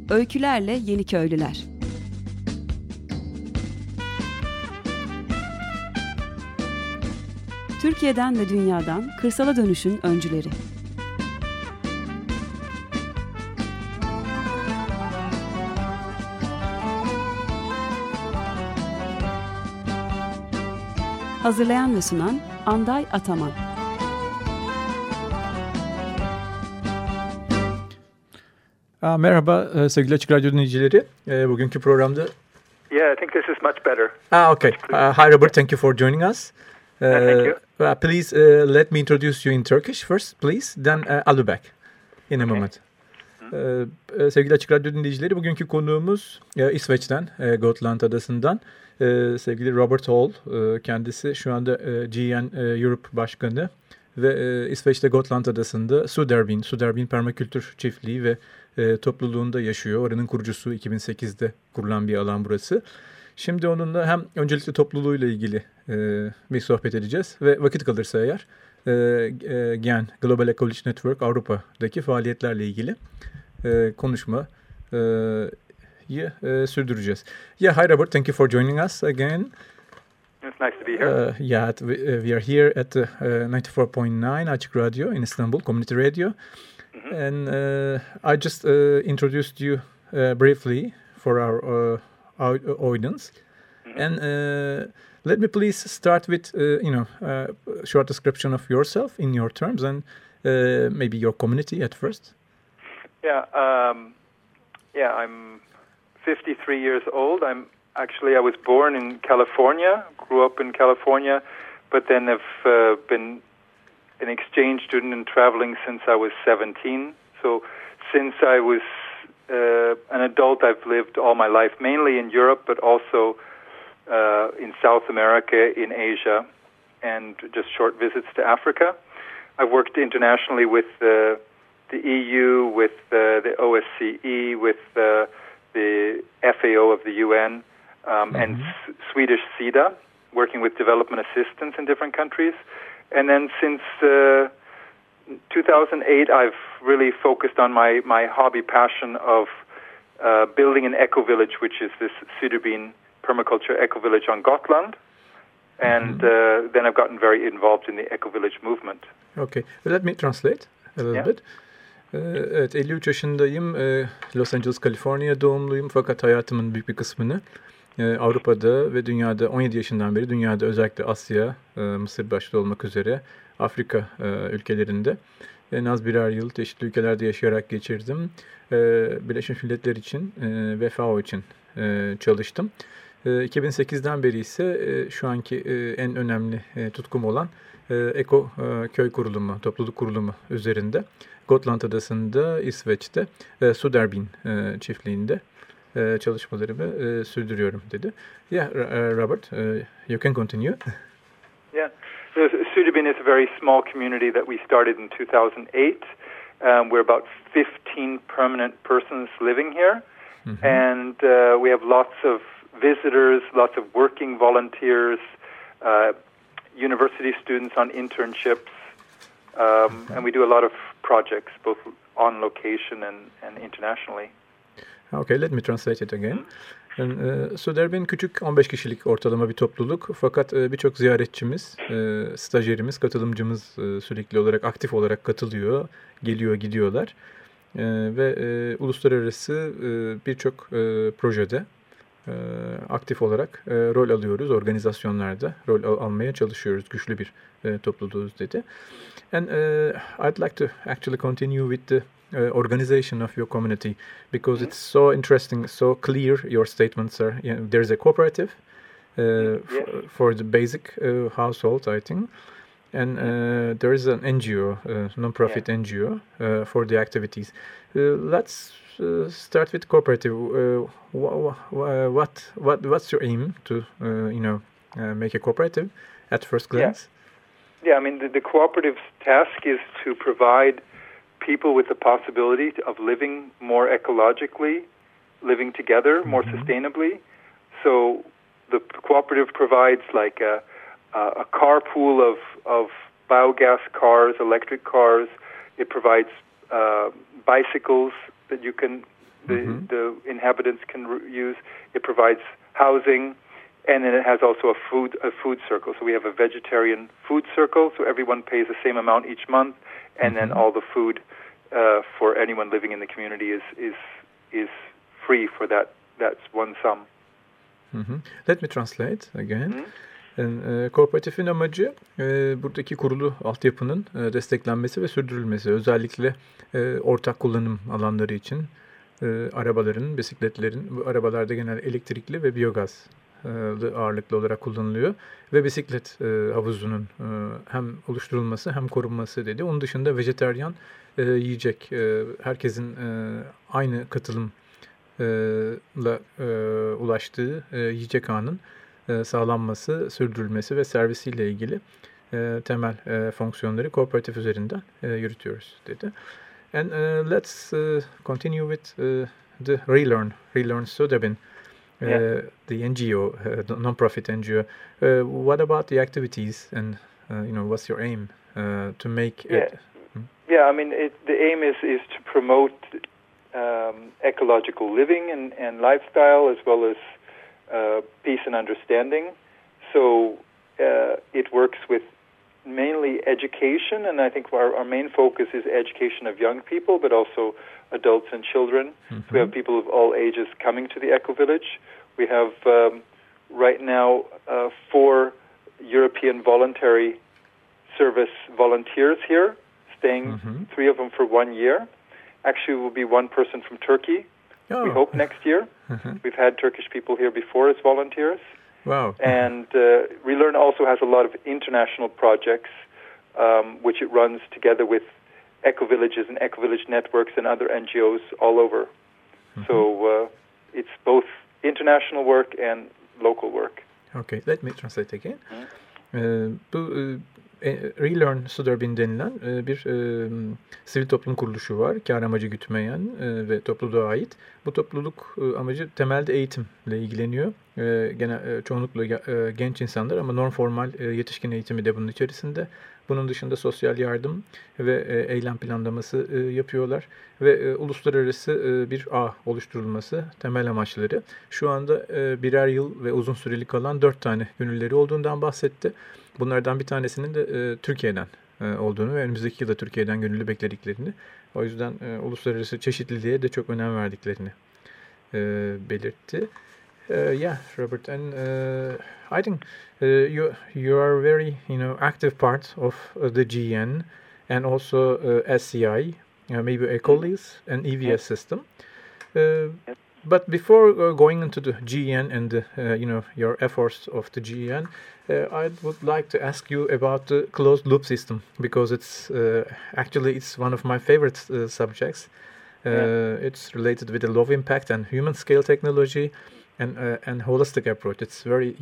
Öykülerle Yeniköylüler. Türkiye'den ve dünyadan kırsala dönüşün öncüleri. Hazırlayan ve sunan Anday Ataman. Merhaba sevgili Açık Radyo dinleyicileri. Bugünkü programda... Yeah, I think this is much better. Okay. Hi Robert, thank you for joining us. Thank you. Please let me introduce you in Turkish first, please. Then I'll be back in a moment. Sevgili Açık Radyo dinleyicileri, bugünkü konuğumuz İsveç'ten, Gotland Adası'ndan sevgili Robert Hall. Kendisi şu anda GN Europe Başkanı ve İsveç'te Gotland Adası'nda Suderbin Permakültür Çiftliği ve topluluğunda yaşıyor. Oranın kurucusu, 2008'de kurulan bir alan burası. Şimdi onunla hem öncelikle topluluğuyla ilgili bir sohbet edeceğiz ve vakit kalırsa eğer GEN, Global Ecology Network Avrupa'daki faaliyetlerle ilgili konuşmayı sürdüreceğiz. Yeah, hi Robert, thank you for joining us again. It's nice to be here. We are here at 94.9 Açık Radyo in Istanbul, Community Radio. And I just introduced you briefly for our audience. And let me please start with, a short description of yourself in your terms and maybe your community at first. Yeah, I'm 53 years old. I was born in California, grew up in California, but then have been an exchange student and traveling since I was 17. So since I was an adult, I've lived all my life, mainly in Europe, but also in South America, in Asia, and just short visits to Africa. I've worked internationally with the EU, with the OSCE, with the FAO of the UN, and Swedish SIDA, working with development assistance in different countries. And then since 2008, I've really focused on my hobby passion of building an eco-village, which is this Suderbin permaculture eco-village on Gotland. And then I've gotten very involved in the eco-village movement. Okay, let me translate a little bit. Evet, 53 yaşındayım. Los Angeles, Kaliforniya doğumluyum. Fakat hayatımın büyük bir kısmını Avrupa'da ve dünyada 17 yaşından beri dünyada, özellikle Asya, Mısır başta olmak üzere Afrika ülkelerinde en az birer yıl çeşitli ülkelerde yaşayarak geçirdim. Birleşmiş Milletler için ve FAO için çalıştım. 2008'den beri ise şu anki en önemli tutkum olan Eko Köy Kurulumu, Topluluk Kurulumu üzerinde Gotland Adası'nda, İsveç'te Suderbin çiftliğinde çalışmalarımı sürdürüyorum dedi. Yeah, Robert, you can continue. Yeah, so Suderbin is a very small community that we started in 2008. We're about 15 permanent persons living here, and we have lots of visitors, lots of working volunteers, university students on internships, and we do a lot of projects, both on location and internationally. Okay, let me translate it again. Suderbin küçük 15 kişilik ortalama bir topluluk. Fakat birçok ziyaretçimiz, stajyerimiz, katılımcımız sürekli olarak, aktif olarak katılıyor, geliyor, gidiyorlar. Ve uluslararası birçok projede aktif olarak rol alıyoruz, organizasyonlarda rol almaya çalışıyoruz. Güçlü bir topluluğuz dedi. And I'd like to actually continue with the organization of your community because it's so interesting, so clear. Your statements are. There's a cooperative for the basic household, I think, and there is an NGO, non-profit NGO, for the activities. Let's start with cooperative. What's your aim to make a cooperative at first glance? Yeah, I mean the cooperative's task is to provide people with the possibility of living more ecologically, living together more sustainably. So the cooperative provides like a carpool of biogas cars, electric cars. It provides bicycles that you can the inhabitants can use. It provides housing, and then it has also a food circle. So we have a vegetarian food circle, so everyone pays the same amount each month, and then all the food for anyone living in the community is free for that's one sum. Let me translate again. Kooperatifin amacı buradaki kurulu altyapının desteklenmesi ve sürdürülmesi. Özellikle ortak kullanım alanları için arabaların, bisikletlerin, bu arabalarda genel elektrikli ve biyogaz ağırlıklı olarak kullanılıyor. Ve bisiklet havuzunun hem oluşturulması hem korunması dedi. Onun dışında vejetaryen yiyecek, herkesin aynı katılımla ulaştığı yiyecek ağının sağlanması, sürdürülmesi ve servisiyle ilgili temel fonksiyonları kooperatif üzerinden yürütüyoruz dedi. And let's continue with the Relearn Söderben, the NGO, the non-profit NGO. What about the activities and what's your aim to make it? Yeah, I mean, the aim is to promote ecological living and lifestyle, as well as peace and understanding. So it works with mainly education, and I think our main focus is education of young people, but also adults and children. So we have people of all ages coming to the Eco-Village. We have right now 4 European voluntary service volunteers here, staying 3 of them for 1 year. Actually, will be 1 person from Turkey. We hope next year. We've had Turkish people here before as volunteers. Wow. And Relearn also has a lot of international projects, which it runs together with eco-villages and eco-village networks and other NGOs all over. So it's both international work and local work. Okay, let me translate again. Bu Relearn Söderben denilen bir sivil toplum kuruluşu var. Kar amacı gütmeyen ve topluluğa ait. Bu topluluk amacı temelde eğitimle ilgileniyor. Çoğunlukla genç insanlar ama non-formal yetişkin eğitimi de bunun içerisinde. Bunun dışında sosyal yardım ve eylem planlaması yapıyorlar. Ve uluslararası bir ağ oluşturulması temel amaçları. Şu anda birer yıl ve uzun süreli kalan 4 tane gönülleri olduğundan bahsetti. Bunlardan bir tanesinin de Türkiye'den olduğunu ve önümüzdeki yılda Türkiye'den gönüllü beklediklerini, o yüzden uluslararası çeşitliliğe de çok önem verdiklerini belirtti. Yeah, Robert, and I think you are very active part of the GN and also SCI, maybe Ecolis and EVS system. But before going into the GN and your efforts of the GN, I would like to ask you about the closed loop system, because it's one of my favorite subjects. It's related with the low impact and human scale technology and holistic approach. It's very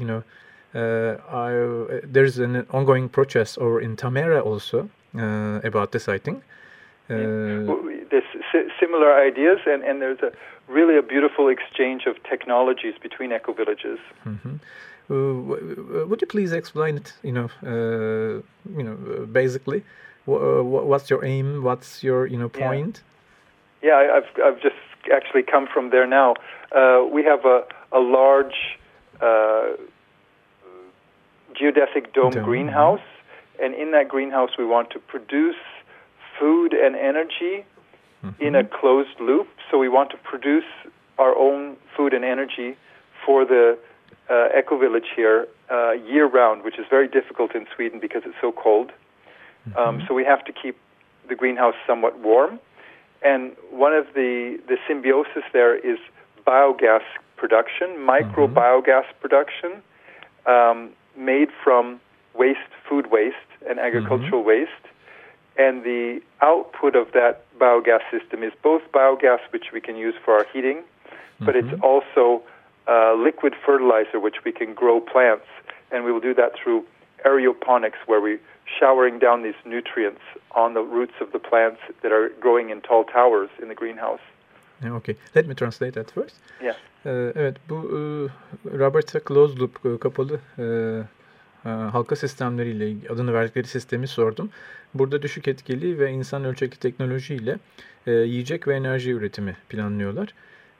there's an ongoing process over in Tamera also about this, I think. There's similar ideas, and there's really a beautiful exchange of technologies between eco-villages. Would you please explain it? Basically, what's your aim? What's your point? Yeah, I've just actually come from there now. We have a large geodesic dome greenhouse, and in that greenhouse we want to produce food and energy in a closed loop. So we want to produce our own food and energy for the eco-village here year-round, which is very difficult in Sweden because it's so cold. So we have to keep the greenhouse somewhat warm. And one of the symbiosis there is biogas production, micro-biogas production, made from food waste and agricultural waste. And the output of that biogas system is both biogas, which we can use for our heating, but it's also liquid fertilizer, which we can grow plants. And we will do that through aeroponics, where we're showering down these nutrients on the roots of the plants that are growing in tall towers in the greenhouse. Okay, let me translate that first. Yeah. Evet, bu Robert'a closed loop, kapalı halka sistemleriyle adını verdikleri sistemi sordum. Burada düşük etkili ve insan ölçekli teknolojiyle yiyecek ve enerji üretimi planlıyorlar.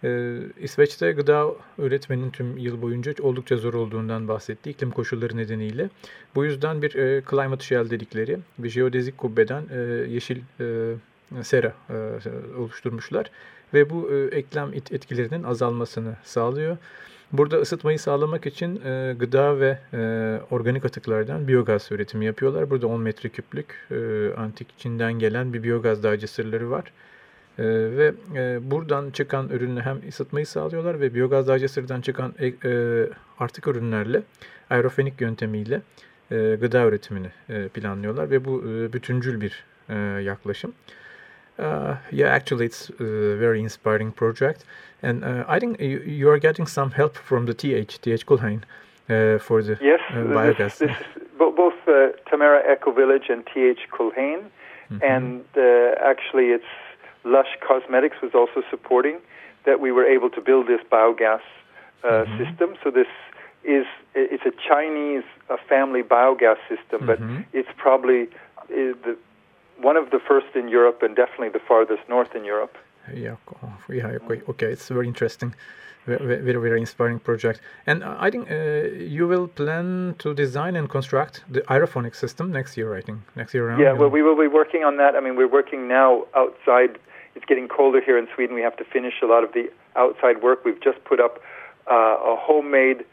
İsveç'te gıda üretmenin tüm yıl boyunca oldukça zor olduğundan bahsetti iklim koşulları nedeniyle. Bu yüzden bir climate shell dedikleri bir jeodezik kubbeden yeşil sera oluşturmuşlar ve bu eklem etkilerinin azalmasını sağlıyor. Burada ısıtmayı sağlamak için gıda ve organik atıklardan biyogaz üretimi yapıyorlar. Burada 10 metreküplük antik Çin'den gelen bir biyogaz dağcı sırları var. Ve buradan çıkan ürünle hem ısıtmayı sağlıyorlar ve biyogaz dağcısırdan çıkan artık ürünlerle aerofenik yöntemiyle gıda üretimini planlıyorlar ve bu bütüncül bir yaklaşım. Yeah, actually it's a very inspiring project, and I think you are getting some help from the TH Kulhain for the biogas. This both Tamera Eco Village and TH Kulhain, and actually it's Lush Cosmetics was also supporting that we were able to build this biogas system. So it's a Chinese family biogas system, but it's probably one of the first in Europe and definitely the farthest north in Europe. Yeah, okay, it's very interesting. Very, very inspiring project. And I think you will plan to design and construct the aerophonic system next year, I think. Next year around. Yeah, well, we will be working on that. I mean, we're working now outside. It's getting colder here in Sweden. We have to finish a lot of the outside work. We've just put up a homemade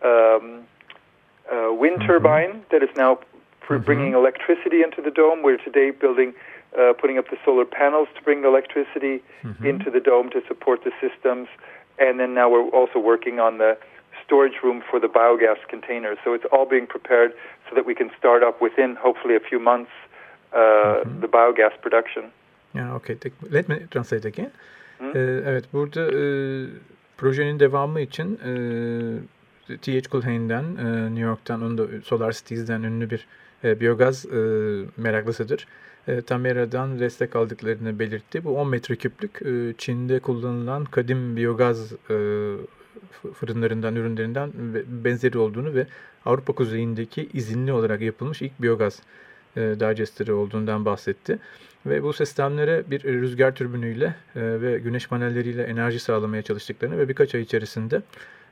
wind turbine that is now bringing electricity into the dome. We're today putting up the solar panels to bring the electricity into the dome to support the systems. And then now we're also working on the storage room for the biogas containers. So it's all being prepared so that we can start up within, hopefully, a few months, the biogas production. Yeah, okay. Let me translate again. Evet, burada projenin devamı için TH Kulhain'den, New York'tan, onun da Solar Cities'den ünlü bir biyogaz meraklısıdır. Tamera'dan destek aldıklarını belirtti. Bu 10 metreküplük Çin'de kullanılan kadim biyogaz fırınlarından, ürünlerinden benzeri olduğunu ve Avrupa kuzeyindeki izinli olarak yapılmış ilk biyogaz digesteri olduğundan bahsetti. Ve bu sistemlere bir rüzgar türbünüyle ve güneş panelleriyle enerji sağlamaya çalıştıklarını ve birkaç ay içerisinde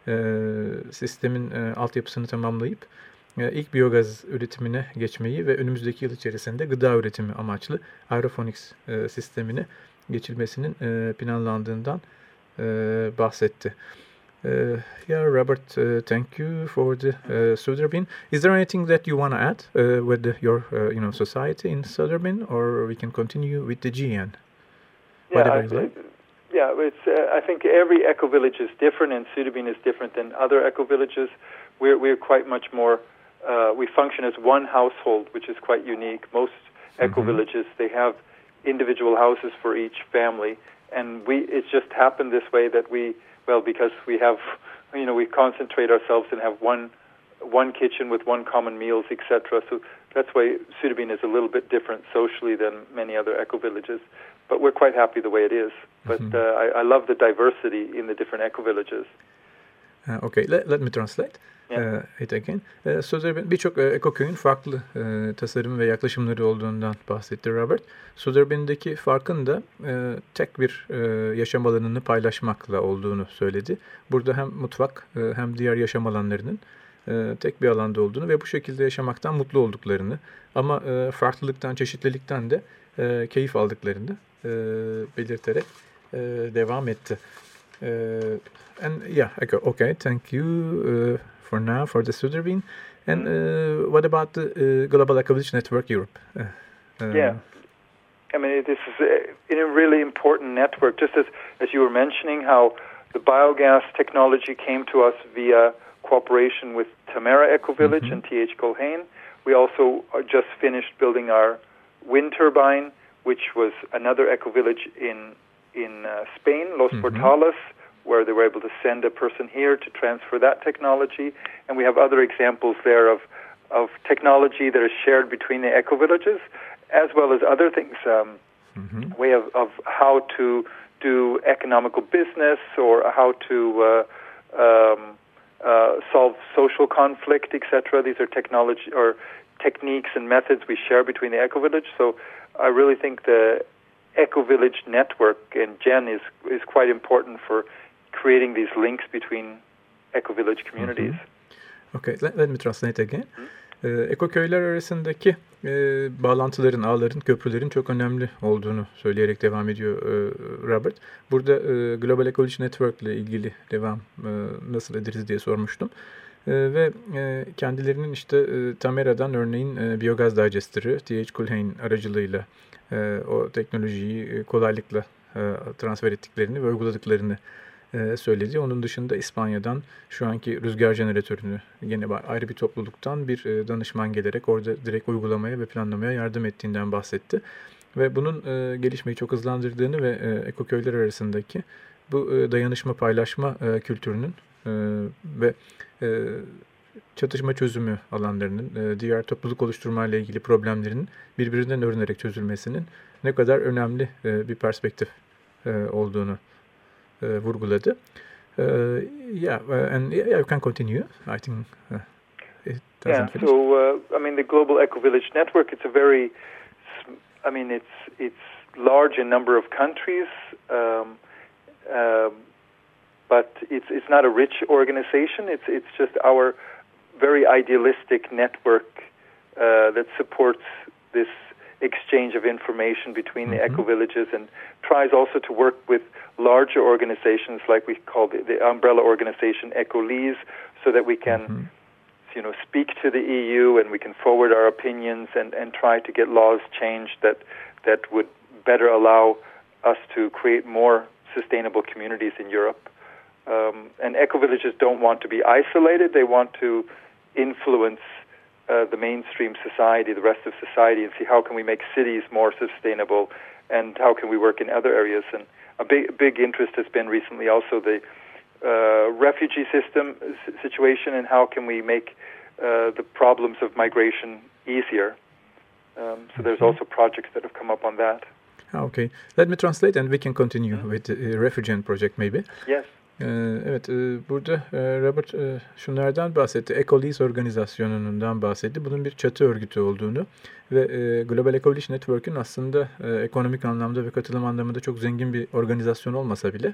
sistemin altyapısını tamamlayıp ilk biyogaz üretimine geçmeyi ve önümüzdeki yıl içerisinde gıda üretimi amaçlı aerofonics sistemine geçilmesinin planlandığından bahsetti. Yeah, Robert, thank you for the Söderbind. Is there anything that you want to add with your society in Söderbind, or we can continue with the GN? Yeah, it's. I think every eco village is different, and Söderbind is different than other eco villages. We're quite much more. We function as one household, which is quite unique. Most eco villages, they have individual houses for each family, and it's just happened this way that because we have, we concentrate ourselves and have one kitchen with one common meals, etc. So that's why Söderbind is a little bit different socially than many other eco villages. But we're quite happy the way it is. But I love the diversity in the different eco villages. Okay, let me translate it again. Söderbind birçok ekoköyün farklı tasarım ve yaklaşımları olduğundan bahsetti Robert. Söderbind'deki farkın da tek bir yaşam alanını paylaşmakla olduğunu söyledi. Burada hem mutfak hem diğer yaşam alanlarının tek bir alanda olduğunu ve bu şekilde yaşamaktan mutlu olduklarını ama farklılıktan, çeşitlilikten de keyif aldıklarını belirterek devam etti. And yeah, okay, thank you for now for the Söderbind. And what about the Global Eco Village Network Europe? Yeah, I mean, this is a really important network. Just as you were mentioning, how the biogas technology came to us via cooperation with Tamera Eco Village and TH Kulhain. We also just finished building our wind turbine, which was another eco village in Spain, Los Portales, where they were able to send a person here to transfer that technology. And we have other examples there of technology that is shared between the eco villages, as well as other things, way of how to do economical business or how to solve social conflict, etc. These are technology or techniques and methods we share between the eco village. So I really think the Eco Village network and GEN is quite important for creating these links between eco-village communities. Okay, let me translate again. Ekoköyler arasındaki bağlantıların, ağların, köprülerin çok önemli olduğunu söyleyerek devam ediyor Robert. Burada Global Ecology Network ile ilgili nasıl ederiz diye sormuştum. Ve kendilerinin işte Tamera'dan örneğin biyogaz digesteri T.H. Culhane aracılığıyla o teknolojiyi kolaylıkla transfer ettiklerini ve uyguladıklarını söyledi. Onun dışında İspanya'dan şu anki rüzgar jeneratörünü yine ayrı bir topluluktan bir danışman gelerek orada direkt uygulamaya ve planlamaya yardım ettiğinden bahsetti. Ve bunun gelişmeyi çok hızlandırdığını ve ekoköyler arasındaki bu dayanışma paylaşma kültürünün ve çatışma çözümü alanlarının, diğer topluluk oluşturma ile ilgili problemlerin birbirinden öğrenerek çözülmesinin ne kadar önemli bir perspektif olduğunu vurguladı. You can continue. I think it doesn't finish. So the Global Eco-Village Network, it's a very, it's large in number of countries, but it's not a rich organization. It's just our very idealistic network that supports this exchange of information between the eco-villages and tries also to work with larger organizations like we call the umbrella organization EcoLease, so that we can speak to the EU and we can forward our opinions and try to get laws changed that would better allow us to create more sustainable communities in Europe. And eco-villages don't want to be isolated. They want to influence the mainstream society, the rest of society, and see how can we make cities more sustainable and how can we work in other areas. And a big interest has been recently also the refugee situation and how can we make the problems of migration easier. So there's also projects that have come up on that. Okay. Let me translate and we can continue with the Refugee Project maybe. Yes. Evet, burada Robert şunlardan bahsetti. EcoLease organizasyonundan bahsetti. Bunun bir çatı örgütü olduğunu ve Global Ecology Network'ün aslında ekonomik anlamda ve katılım anlamında çok zengin bir organizasyon olmasa bile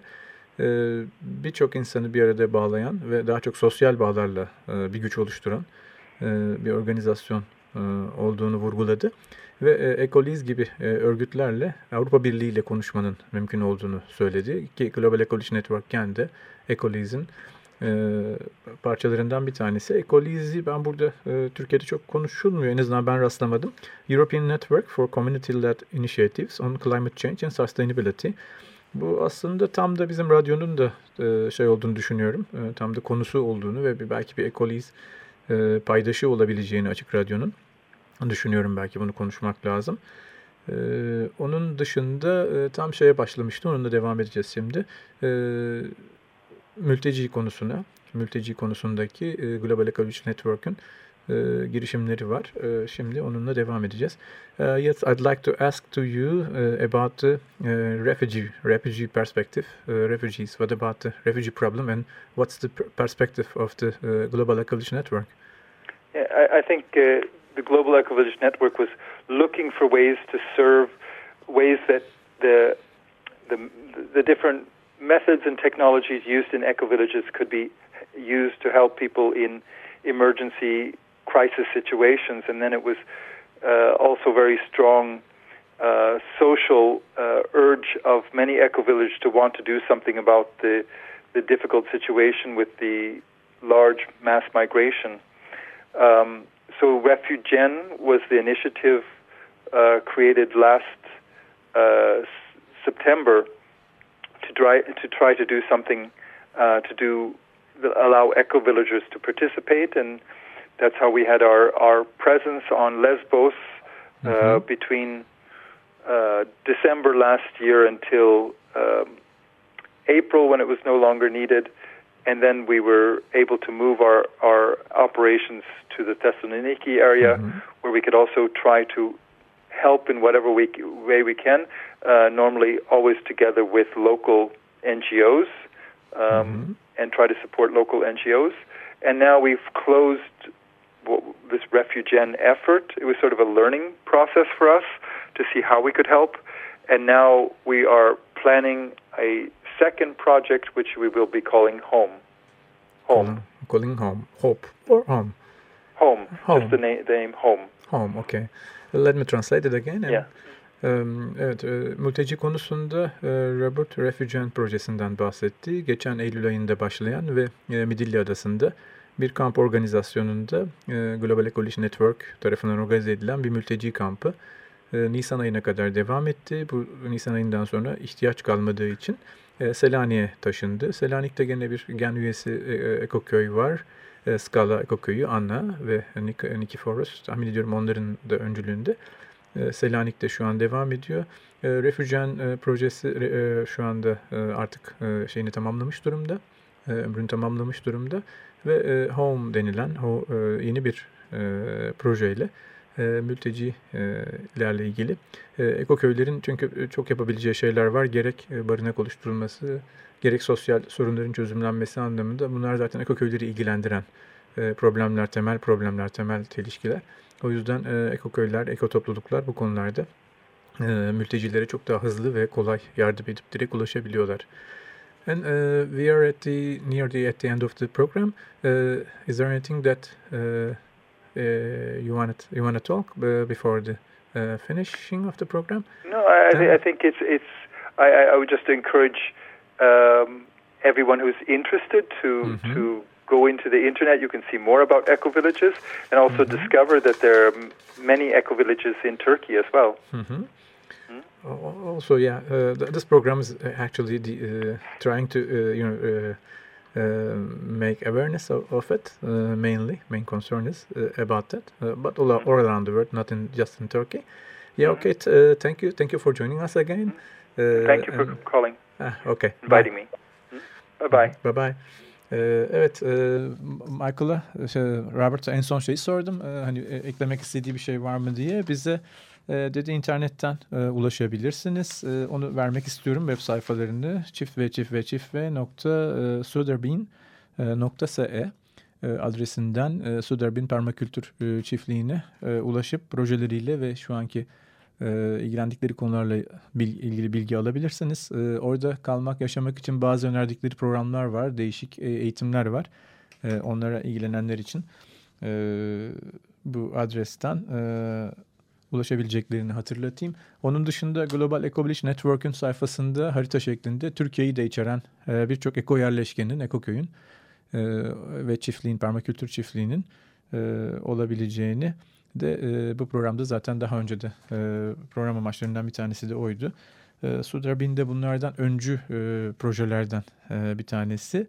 birçok insanı bir arada bağlayan ve daha çok sosyal bağlarla bir güç oluşturan bir organizasyon olduğunu vurguladı. Ve EcoLease gibi örgütlerle Avrupa Birliği ile konuşmanın mümkün olduğunu söyledi. Ki Global Ecology Network kendi EcoLease'in parçalarından bir tanesi. EcoLease'i ben burada Türkiye'de çok konuşulmuyor. En azından ben rastlamadım. European Network for Community-Led Initiatives on Climate Change and Sustainability. Bu aslında tam da bizim radyonun da olduğunu düşünüyorum. Tam da konusu olduğunu ve belki bir EcoLease paydaşı olabileceğini Açık Radyo'nun düşünüyorum, belki bunu konuşmak lazım. Onun dışında tam başlamıştım. Onunla devam edeceğiz şimdi. Mülteci konusundaki Global Ecology Network'ün girişimleri var. Şimdi onunla devam edeceğiz. Yes, I'd like to ask to you about the refugee perspective. Refugees. What about the refugee problem and what's the perspective of the Global Ecology Network? Yeah, I think the Global Ecovillage Network was looking for ways that the different methods and technologies used in ecovillages could be used to help people in emergency crisis situations. And then it was also very strong social urge of many ecovillages to want to do something about the difficult situation with the large mass migration. So Refugen was the initiative created last September to try to do something allow eco-villagers to participate, and that's how we had our presence on Lesbos between December last year until April, when it was no longer needed. And then we were able to move our operations to the Thessaloniki area, where we could also try to help in whatever way we can, normally always together with local NGOs, and try to support local NGOs. And now we've closed this Refugen effort. It was sort of a learning process for us to see how we could help. And now we are planning a second project, which we will be calling Home. Calling Home. Hope or Home? Home. Just the name Home. Home, okay. Let me translate it again. Yeah. Evet, mülteci konusunda Robert Refugee projesinden bahsetti. Geçen Eylül ayında başlayan ve Midilli Adası'nda bir kamp organizasyonunda Global Ecology Network tarafından organize edilen bir mülteci kampı Nisan ayına kadar devam etti. Bu Nisan ayından sonra ihtiyaç kalmadığı için Selanik'e taşındı. Selanik'te gene bir gen üyesi ekoköy var. Skala Ekoköyü, Anna ve Nikiforos, tahmin ediyorum onların da öncülüğünde. Selanik'te şu an devam ediyor. Refugee projesi şu anda artık şeyini tamamlamış durumda. Ömrünü tamamlamış durumda. Ve Home denilen yeni bir projeyle mültecilerle ilgili ekoköylerin çünkü çok yapabileceği şeyler var. Gerek barınak oluşturulması, gerek sosyal sorunların çözümlenmesi anlamında bunlar zaten ekoköyleri ilgilendiren problemler, temel çelişkiler. O yüzden ekoköyler, ekotopluluklar bu konularda mültecilere çok daha hızlı ve kolay yardım edip direkt ulaşabiliyorlar. And we are at the end of the program. Is there anything that you want to talk before the finishing of the program? No, I think it's. I would just encourage everyone who's interested to go into the internet. You can see more about eco-villages and also discover that there are many eco-villages in Turkey as well. Also, this program is actually trying to make awareness of it. Main concern is about that, but all around the world, not just in Turkey. Yeah, okay. Thank you for joining us again. Thank you for calling. Okay. Inviting me. Bye bye. Evet, Michael'a, Robert'a en son şeyi sordum. Hani eklemek istediği bir şey var mı diye. Bize dedi internetten ulaşabilirsiniz. Onu vermek istiyorum web sayfalarını çiftve.suderbin.se adresinden Suderbin Permakültür Çiftliği'ne ulaşıp projeleriyle ve şu anki ilgilendikleri konularla ilgili bilgi alabilirsiniz. Orada kalmak, yaşamak için bazı önerdikleri programlar var, değişik eğitimler var. Onlara ilgilenenler için bu adresten ulaşabileceklerini hatırlatayım. Onun dışında Global Ecology Network'ün sayfasında harita şeklinde Türkiye'yi de içeren birçok eko yerleşkenin, ekoköyün ve çiftliğin, permakültür çiftliğinin olabileceğini de bu programda zaten daha önce de program amaçlarından bir tanesi de oydu. Suderbin de bunlardan öncü projelerden bir tanesi.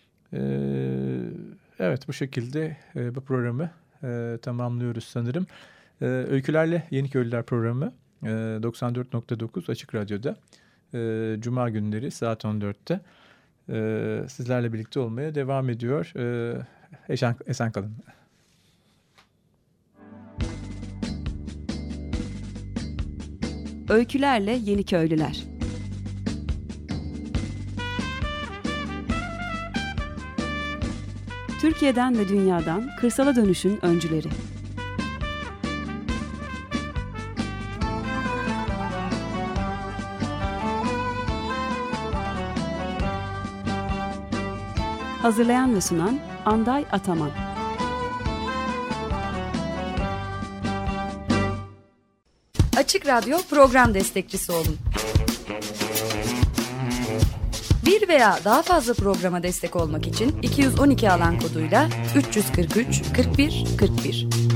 Evet, bu şekilde bu programı tamamlıyoruz sanırım. Öykülerle Yeniköylüler programı 94.9 Açık Radyo'da Cuma günleri saat 14'te sizlerle birlikte olmaya devam ediyor. Esen kalın. Öykülerle Yeniköylüler. Türkiye'den ve dünyadan kırsala dönüşün öncüleri. Hazırlayan ve sunan Anday Ataman. Açık Radyo program destekçisi olun. Bir veya daha fazla programa destek olmak için 212 alan koduyla 343 41 41.